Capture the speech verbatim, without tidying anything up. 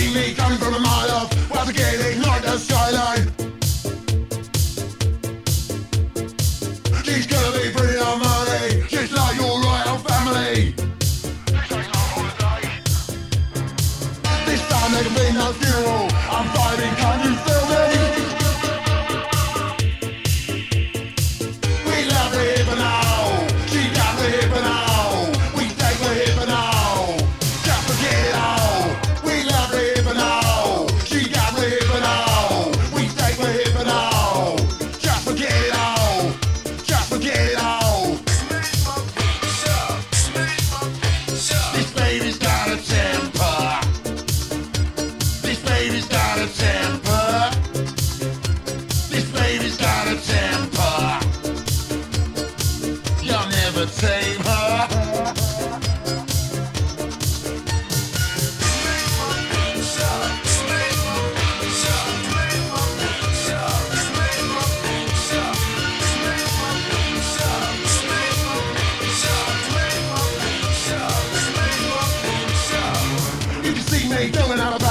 see me coming from a mile off, while to get ignite the skyline. She's gonna be bringing on money, just like your royal family. This ain't no holiday. This time there can be no funeral. I'm vibing, can't you feel me? We love the hip and now. She got the hip and now. We take the hip and now. Just forget it all. We love the hip and now. She got the hip and now. We take the hip and now. Just forget it all. Just forget it all. This baby's got a temper. This baby's got a temper. This baby's got a temper. You'll never tame her. You can see me doing out of